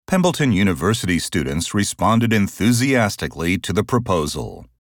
Pembleton University students responded enthusiastically to the proposal.